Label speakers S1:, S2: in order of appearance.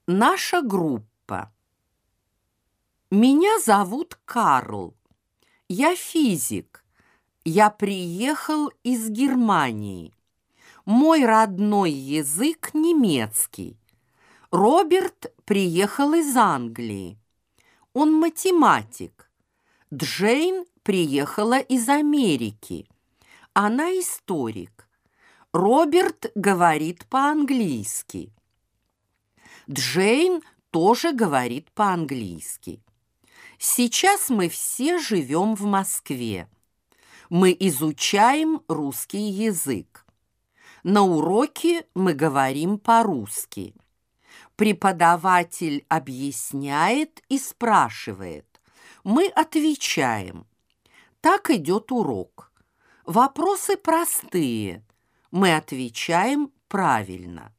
S1: Наша группа. Меня зовут Карл. Я физик. Я приехал из Германии. Мой родной язык немецкий. Роберт приехал из Англии. Он математик. Джейн приехала из Америки. Она историк. Роберт говорит по-английски. Джейн тоже говорит по-английски. Сейчас мы все живем в Москве. Мы изучаем русский язык. На уроке мы говорим по-русски. Преподаватель объясняет и спрашивает. Мы отвечаем. Так идет урок. Вопросы простые. Мы отвечаем правильно.